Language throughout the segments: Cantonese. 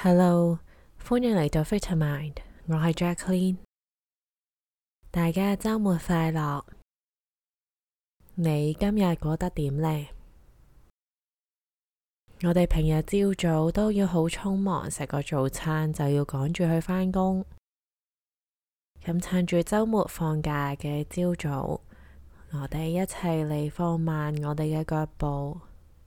Hello，歡迎嚟到 Vitamind， 我係 Jacqueline， 大家週末快樂。你今日過得點呢？我哋平日朝早都要好匆忙，食個早餐就要趕住去返工。咁趁住週末放假嘅朝早，我哋一齊嚟放慢我哋嘅腳步，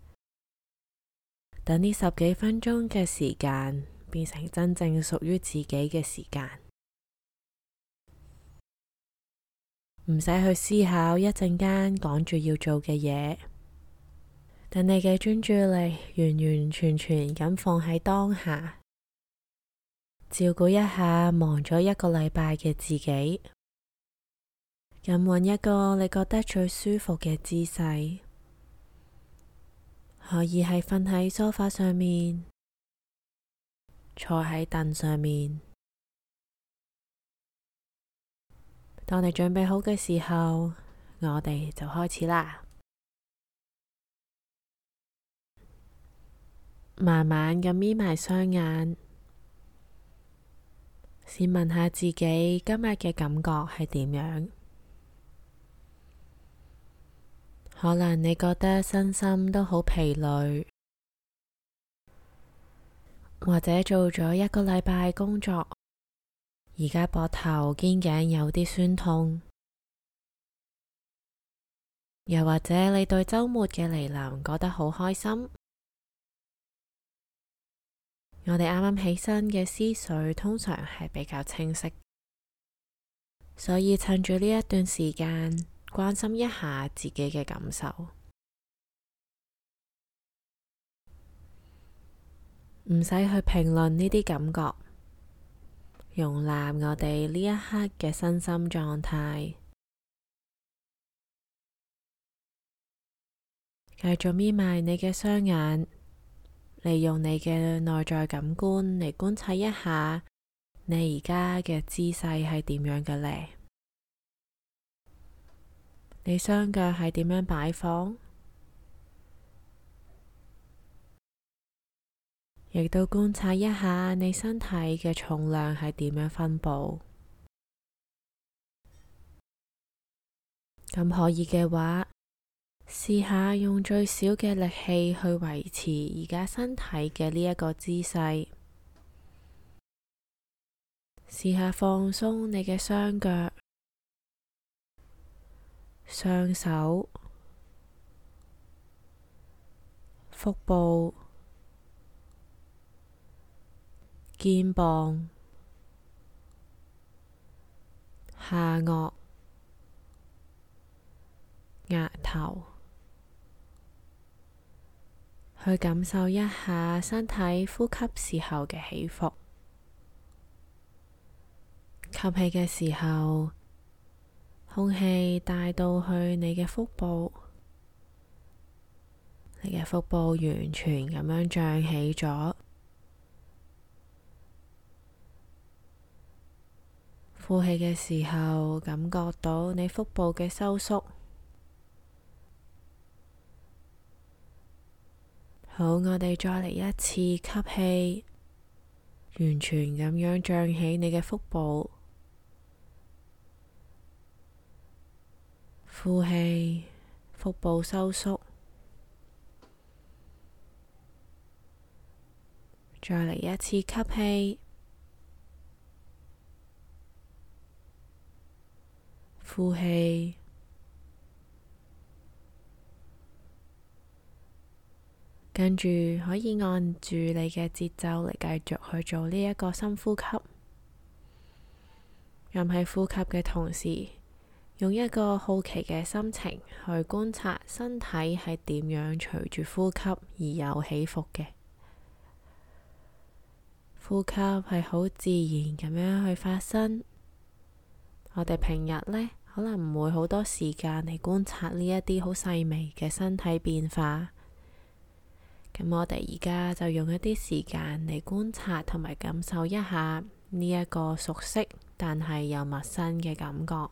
等呢10幾分鐘嘅時間變成真正屬於自己嘅時間，唔使去思考一陣間趕住要做嘅嘢，等你嘅專注力完完全全咁放喺當下，照顧一下忙咗一個禮拜嘅自己，咁揾一個你覺得最舒服嘅姿勢，可以係瞓喺梳化上面，坐喺凳上面。當你準備好嘅時候，我哋就開始啦。慢慢咁眯埋雙眼，先問下自己今日嘅感覺係點樣？可能你覺得身心都好疲累，或者做咗一個禮拜工作，而家膊頭肩頸有啲酸痛，又或者你對週末嘅嚟臨覺得好開心。我哋啱啱起身嘅思緒通常係比較清晰，所以趁住呢一段時間，關心一下自己嘅感受，唔使去評論呢啲感覺，容納我哋呢一刻嘅身心狀態，繼續眯埋你嘅雙眼，利用你嘅內在感官嚟觀察一下你而家嘅姿勢係點樣嘅呢？你雙腳係點樣擺放？亦都觀察一下你身體嘅重量係點樣分佈。咁可以嘅話，試下用最少嘅力氣去維持而家身體嘅呢一個姿勢。試下放鬆你嘅雙腳、雙手、腹部、肩膀、下顎、額頭，去感受一下身體呼吸時候嘅起伏。吸氣嘅時候，空氣帶到去你嘅腹部，你嘅腹部完全咁樣脹起咗。呼氣嘅時候，感覺到你腹部嘅收縮。好，我哋再嚟一次吸氣，完全咁樣脹起你嘅腹部。呼氣，腹部收縮。再嚟一次吸氣，呼氣。跟住可以按住你嘅節奏嚟繼續去做呢一個深呼吸。咁喺呼吸嘅同時，用一個好奇嘅心情去觀察身體係點樣隨住呼吸而有起伏嘅。呼吸係好自然咁樣去發生。我哋平日呢，可能唔會好多時間嚟觀察呢一啲好細微嘅身體變化。咁我哋而家就用一啲時間嚟觀察同埋感受一下呢一個熟悉但係又陌生嘅感覺。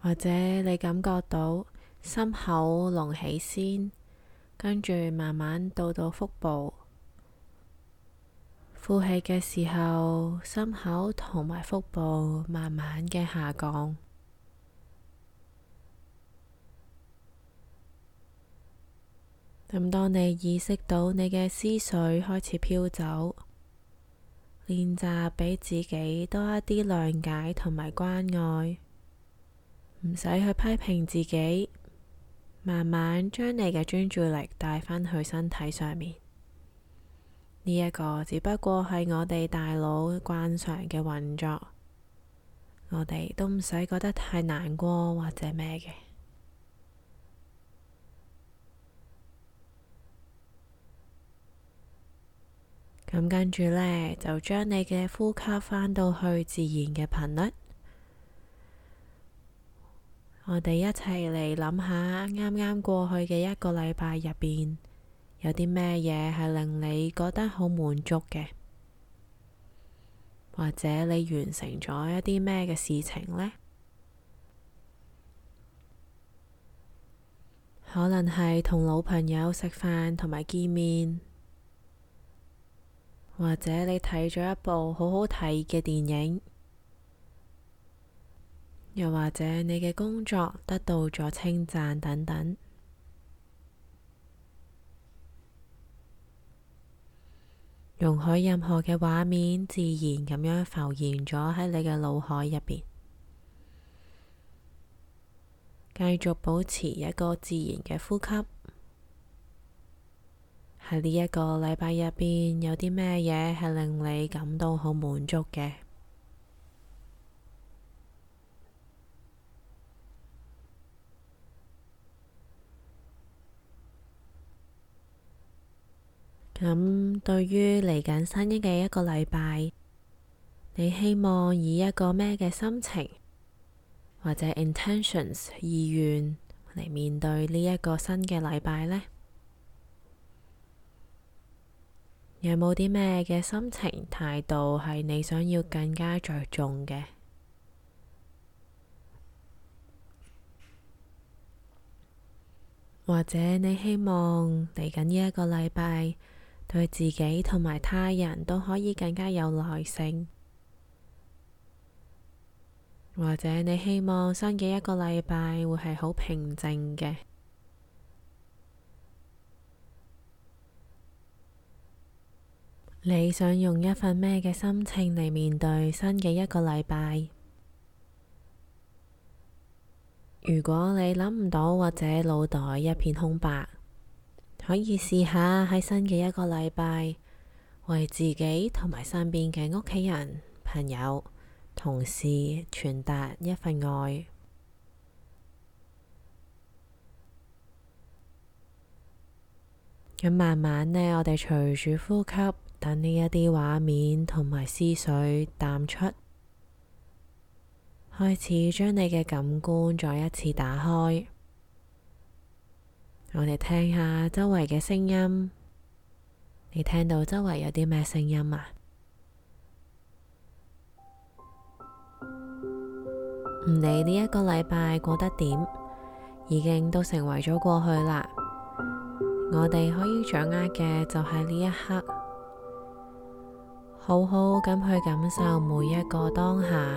或者你感覺到心口隆起先，跟住慢慢到腹部。呼氣嘅時候，心口同埋腹部慢慢嘅下降。咁當你意識到你嘅思緒開始飄走，練習俾自己多一啲諒解同埋關愛，唔使去批評自己，慢慢將你嘅專注力帶返去身體上面。呢一個只不過係我哋大腦慣常嘅運作，我哋都唔使覺得太難過或者咩嘅。咁跟住呢，就將你嘅呼吸返到去自然嘅頻率。我哋一齊嚟諗下啱啱過去嘅一個禮拜入邊，有啲咩嘢係令你覺得好滿足嘅，或者你完成咗一啲咩嘅事情呢？可能係同老朋友食飯同埋見面，或者你睇咗一部好好睇嘅電影，又或者你嘅工作得到咗稱讚等等。容許任何嘅畫面自然咁樣浮現咗喺你嘅腦海入邊，繼續保持一個自然嘅呼吸。喺呢一個禮拜入邊，有啲咩嘢係令你感到好滿足嘅？咁對於嚟緊新嘅一個禮拜，你希望以一個咩嘅心情或者 intentions 意願嚟面對呢一個新嘅禮拜呢？有冇啲咩嘅心情態度係你想要更加着重嘅？或者你希望嚟緊呢一個禮拜，對自己同埋他人都可以更加有耐性，或者你希望新嘅一個禮拜會係好平靜嘅。你想用一份咩嘅心情嚟面對新嘅一個禮拜？如果你諗唔到或者腦袋一片空白，可以試下喺新嘅一個禮拜，為自己同埋身邊嘅屋企人、朋友、同事傳達一份愛。咁慢慢呢，我哋隨住呼吸，等呢一啲畫面同埋思緒淡出，開始將你嘅感官再一次打開。我哋聽下周圍嘅聲音，你聽到周圍有啲咩聲音啊？唔理呢一個禮拜過得點，已經都成為咗過去啦。我哋可以掌握嘅就係呢一刻，好好咁去感受每一個當下。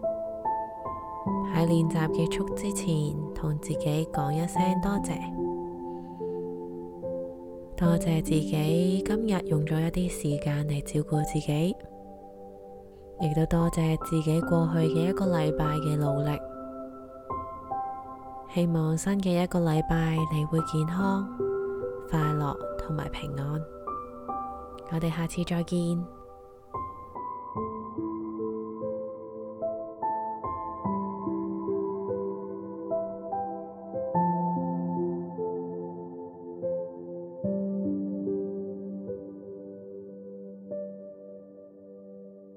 喺練習結束之前，同自己講一聲多謝。多謝自己今日用咗一啲時間嚟照顧自己，亦都多謝自己過去嘅一個禮拜嘅努力。希望新嘅一個禮拜你會健康、快樂同埋平安。我哋下次再見。